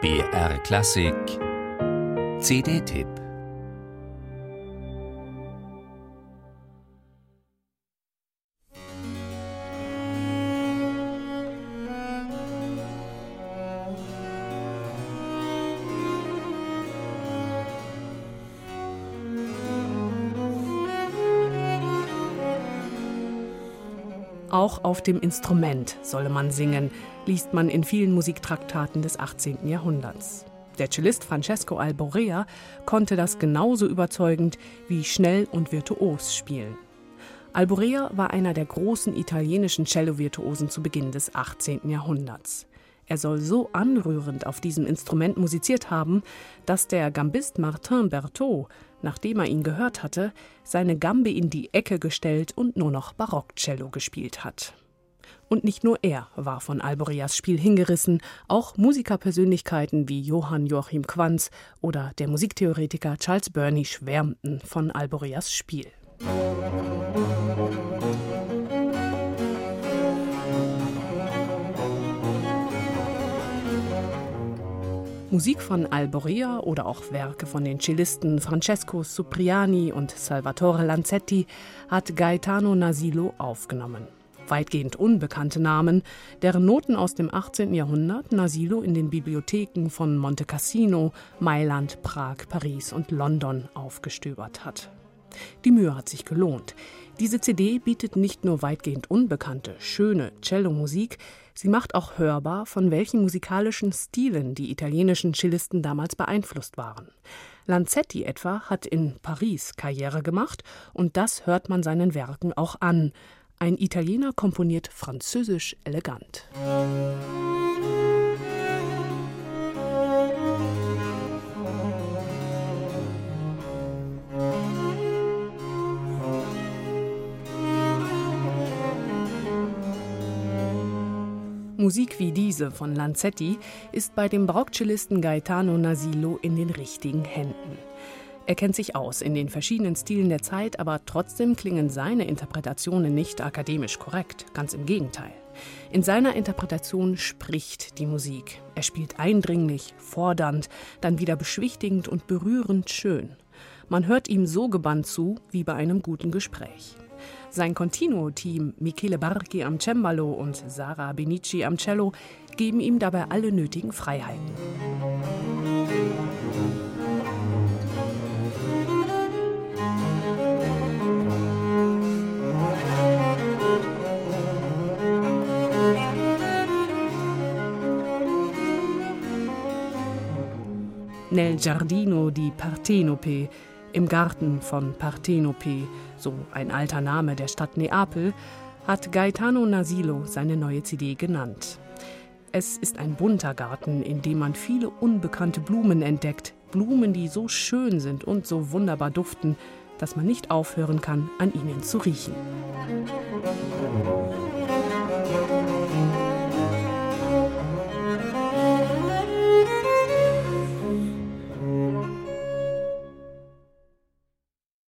BR Klassik CD-Tipp. Auch auf dem Instrument solle man singen, liest man in vielen Musiktraktaten des 18. Jahrhunderts. Der Cellist Francesco Alborea konnte das genauso überzeugend wie schnell und virtuos spielen. Alborea war einer der großen italienischen Cello-Virtuosen zu Beginn des 18. Jahrhunderts. Er soll so anrührend auf diesem Instrument musiziert haben, dass der Gambist Martin Berthaud, nachdem er ihn gehört hatte, seine Gambe in die Ecke gestellt und nur noch Barockcello gespielt hat. Und nicht nur er war von Alboreas Spiel hingerissen, auch Musikerpersönlichkeiten wie Johann Joachim Quanz oder der Musiktheoretiker Charles Burney schwärmten von Alboreas Spiel. Musik von Alborea oder auch Werke von den Cellisten Francesco Cipriani und Salvatore Lanzetti hat Gaetano Nasillo aufgenommen. Weitgehend unbekannte Namen, deren Noten aus dem 18. Jahrhundert Nasillo in den Bibliotheken von Monte Cassino, Mailand, Prag, Paris und London aufgestöbert hat. Die Mühe hat sich gelohnt. Diese CD bietet nicht nur weitgehend unbekannte, schöne Cellomusik, sie macht auch hörbar, von welchen musikalischen Stilen die italienischen Cellisten damals beeinflusst waren. Lanzetti etwa hat in Paris Karriere gemacht und das hört man seinen Werken auch an. Ein Italiener komponiert französisch elegant. Musik wie diese von Lanzetti ist bei dem Barockcellisten Gaetano Nasillo in den richtigen Händen. Er kennt sich aus in den verschiedenen Stilen der Zeit, aber trotzdem klingen seine Interpretationen nicht akademisch korrekt, ganz im Gegenteil. In seiner Interpretation spricht die Musik. Er spielt eindringlich, fordernd, dann wieder beschwichtigend und berührend schön. Man hört ihm so gebannt zu, wie bei einem guten Gespräch. Sein Continuo-Team Michele Barchi am Cembalo und Sara Benici am Cello geben ihm dabei alle nötigen Freiheiten. Nel Giardino di Partenope, im Garten von Partenope, so ein alter Name der Stadt Neapel, hat Gaetano Nasillo seine neue CD genannt. Es ist ein bunter Garten, in dem man viele unbekannte Blumen entdeckt, Blumen, die so schön sind und so wunderbar duften, dass man nicht aufhören kann, an ihnen zu riechen.